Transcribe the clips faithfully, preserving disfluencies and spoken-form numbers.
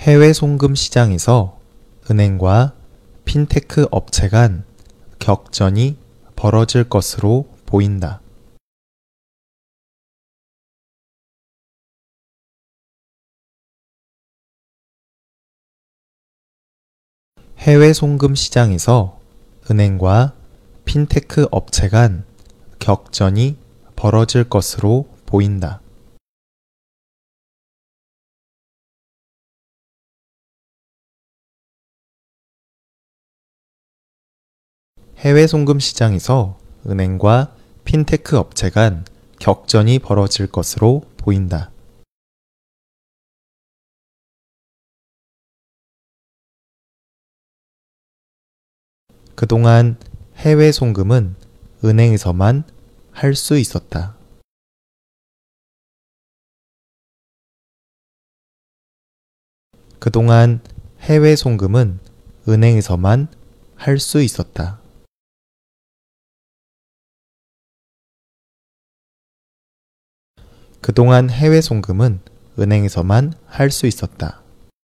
해외 송금 시장에서 은행과 핀테크 업체 간 격전이 벌어질 것으로 보인다. 해외 송금 시장에서 은행과 핀테크 업체 간 격전이 벌어질 것으로 보인다. 해외 송금 시장에서 은행과 핀테크 업체 간 격전이 벌어질 것으로 보인다. 그동안 해외 송금은 은행에서만 할 수 있었다. 그동안 해외 송금은 은행에서만 할 수 있었다. 그동안 해외 송금은 은행에서만 할 수 있었다.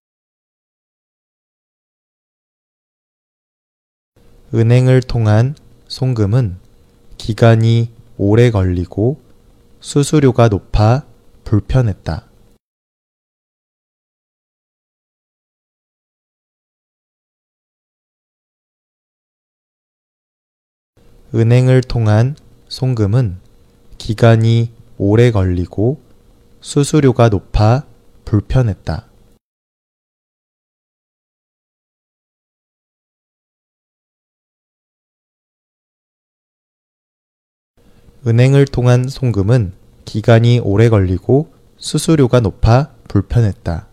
은행을 통한 송금은 기간이 오래 걸리고 수수료가 높아 불편했다. 은행을 통한 송금은 기간이 오래 걸리고 수수료가 높아 불편했다. 은행을 통한 송금은 기간이 오래 걸리고 수수료가 높아 불편했다.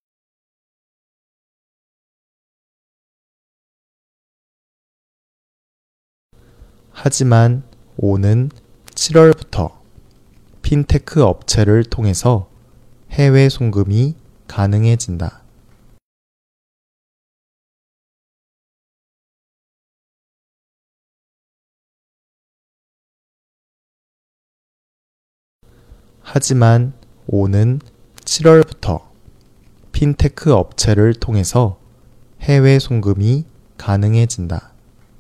하지만 오는 칠월부터 핀테크 업체를 통해서 해외 송금이 가능해진다. 하지만 오는 칠월부터 핀테크 업체를 통해서 해외 송금이 가능해진다.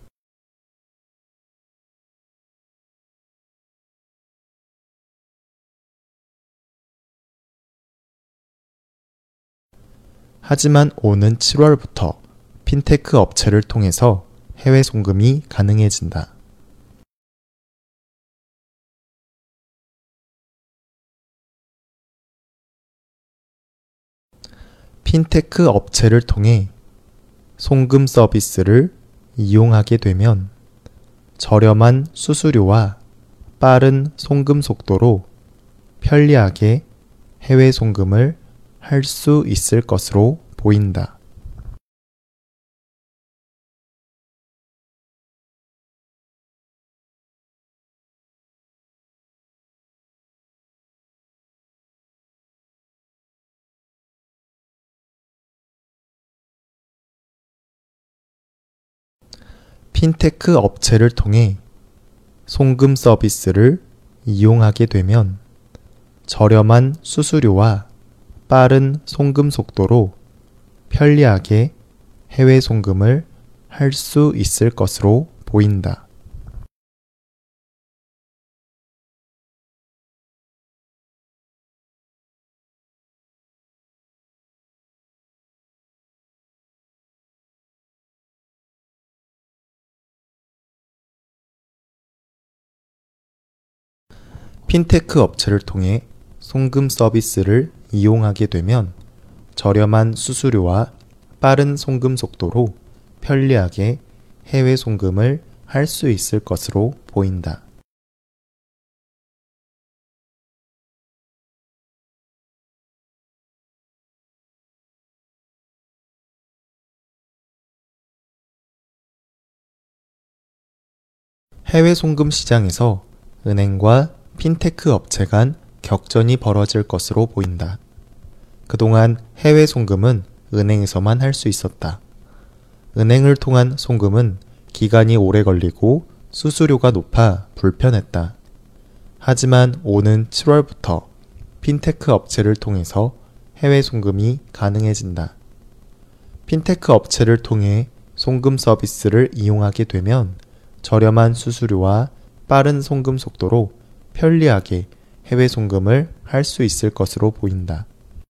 하지만 오는 칠월부터 핀테크 업체를 통해서 해외 송금이 가능해진다. 핀테크 업체를 통해 송금 서비스를 이용하게 되면 저렴한 수수료와 빠른 송금 속도로 편리하게 해외 송금을 할 수 있을 것으로 보인다. 핀테크 업체를 통해 송금 서비스를 이용하게 되면 저렴한 수수료와 빠른 송금 속도로 편리하게 해외 송금을 할 수 있을 것으로 보인다. 핀테크 업체를 통해 송금 서비스를 이용하게 되면 저렴한 수수료와 빠른 송금 속도로 편리하게 해외 송금을 할 수 있을 것으로 보인다. 해외 송금 시장에서 은행과 핀테크 업체 간 격전이 벌어질 것으로 보인다. 그동안 해외 송금은 은행에서만 할 수 있었다. 은행을 통한 송금은 기간이 오래 걸리고 수수료가 높아 불편했다. 하지만 오는 칠월부터 핀테크 업체를 통해서 해외 송금이 가능해진다. 핀테크 업체를 통해 송금 서비스를 이용하게 되면 저렴한 수수료와 빠른 송금 속도로 편리하게 해외 송금을 할 수 있을 것으로 보인다.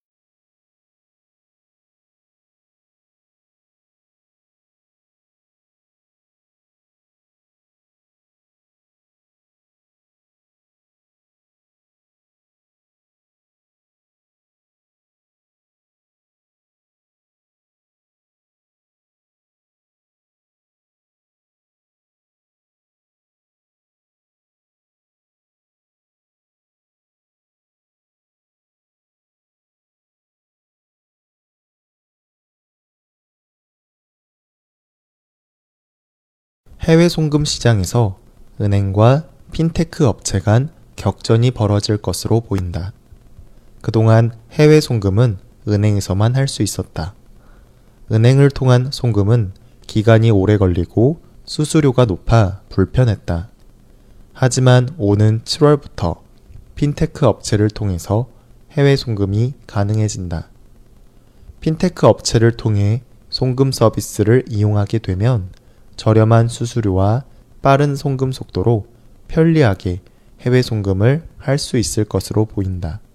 해외 송금 시장에서 은행과 핀테크 업체 간 격전이 벌어질 것으로 보인다. 그동안 해외 송금은 은행에서만 할 수 있었다. 은행을 통한 송금은 기간이 오래 걸리고 수수료가 높아 불편했다. 하지만 오는 칠월부터 핀테크 업체를 통해서 해외 송금이 가능해진다. 핀테크 업체를 통해 송금 서비스를 이용하게 되면 저렴한 수수료와 빠른 송금 속도로 편리하게 해외 송금을 할 수 있을 것으로 보인다.